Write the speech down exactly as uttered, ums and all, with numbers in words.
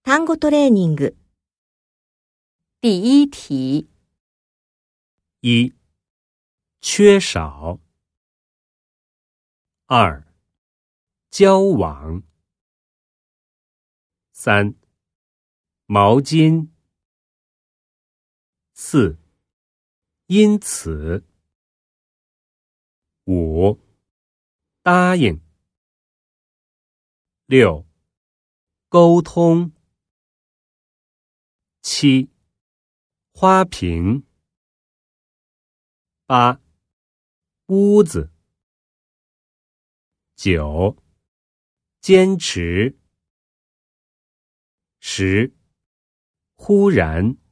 単語トレーニング。 第一题。 一、缺少。二、交往。三、毛巾。四、因此。五、答应。六、沟通。七、花瓶。八、屋子。九、坚持。十、忽然。